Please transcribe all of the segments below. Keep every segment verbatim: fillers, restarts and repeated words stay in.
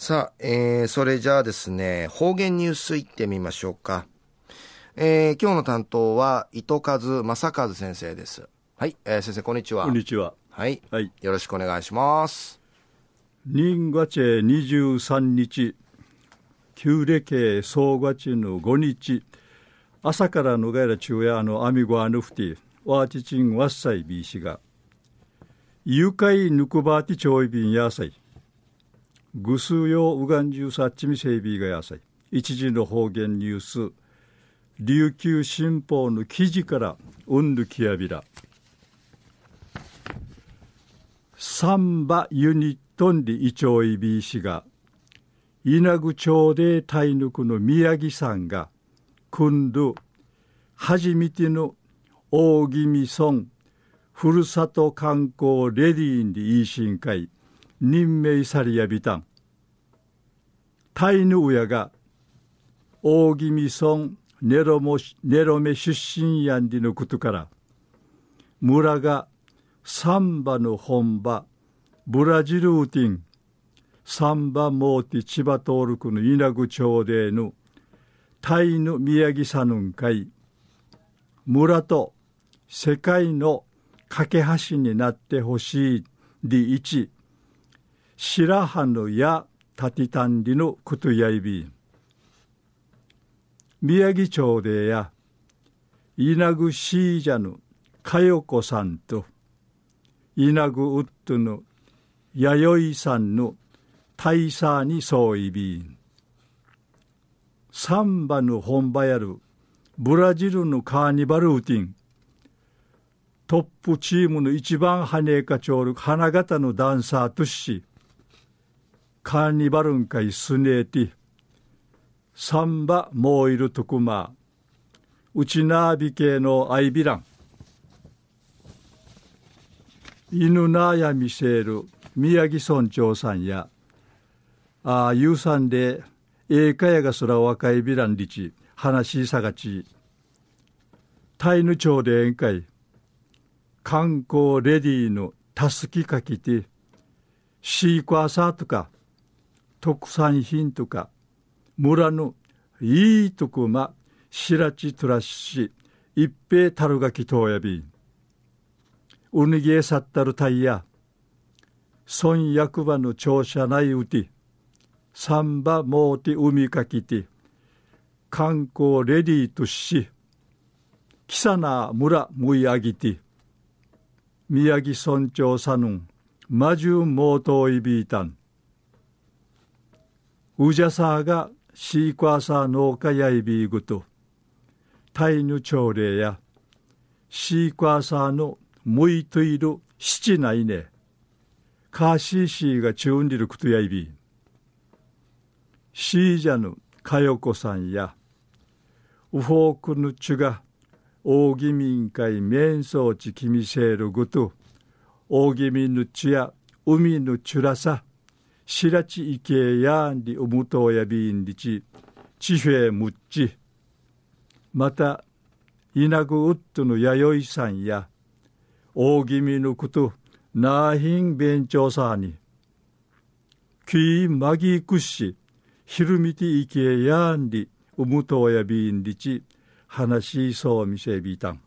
さあ、えー、それじゃあですね、方言ニュースいってみましょうか。えー、今日の担当は糸数正和先生です。はい、えー、先生こんにちは。 こんにちは。 はい、 はい、 よろしくお願いします。 人月にじゅうさんにち、旧暦総月のごにち、朝からのがいら昼夜のアミゴアヌフティ、ワーチチンワッサイビーシが、誘拐ぬくばーティちょいびんやさい、ぐすうよううがんじゅうさっちみせいびーがやさい、一時の方言ニュース、琉球新報の記事からうんぬきやびら、サンバユニットンリイチョイビーシが、稲具町でタイヌクの宮城さんが、今度、初めての大宜味村ふるさと観光レディーンで維新会、任命されやびたん。タイヌウヤが、大宜味村ネロモネロメ出身やんでのことから、村がサンバの本場、ブラジルウティン、サンバモーティ千葉トールクの稲具町でのタイの宮城さぬん会、村と世界の架け橋になってほしいでいち、白羽のやたてたんりのことやいびん。宮城町でや、稲具シージャのかよこさんと、稲具ウッドの弥生さんの大佐にそういびん。サンバの本場やるブラジルのカーニバルウティン。トップチームの一番羽根かちょうる花形のダンサーとし、カーニバルンかいすねえて、サンバもういるとくま、うちなびけのアイビラン。犬なやみせる宮城村長さんや、ああ、ゆうさんで、ええかやがそら若いビランリチ、話しさがち、タイヌ町で宴会、観光レディーのたすきかきて、シークワーサーとか、特産品とか、村のいいとこま、しらちとらし、一平たるがきとうやびん。うにぎえさったるたいや、村役場の庁舎内うて、サンバモーティ海かきて、観光レディーとし、キサナ村むいあぎて、宮城村長さぬん、マジュモートイビータン。ウジャサーがシークワーサー農家やいびーぐと、タイヌ朝礼や、シークワーサーのむいといる七ないね、カーシーシーがチューンリルクトやいびー。シージャヌかよこさんやウフォークヌチュが大宜民会面相地きみせるぐと大宜民ヌチュや海ヌチュラサしらちいけやんりうむとうやびんりちちふえむっちまた稲具ウッドの弥生さんや大宜民ヌくとなあひんべんちょうさにきいまぎくしひるみていけやんりうむとうやびんりち話しそうみせびたん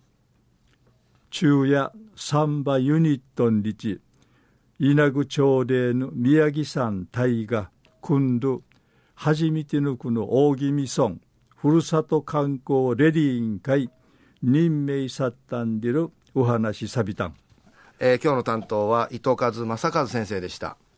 昼夜サンバユニットンりち稲具町での宮城山大が今度初めてのこの大宜味村ふるさと観光レディーン会任命さったんでるお話さびたん、 えー、今日の担当は糸数正和先生でした。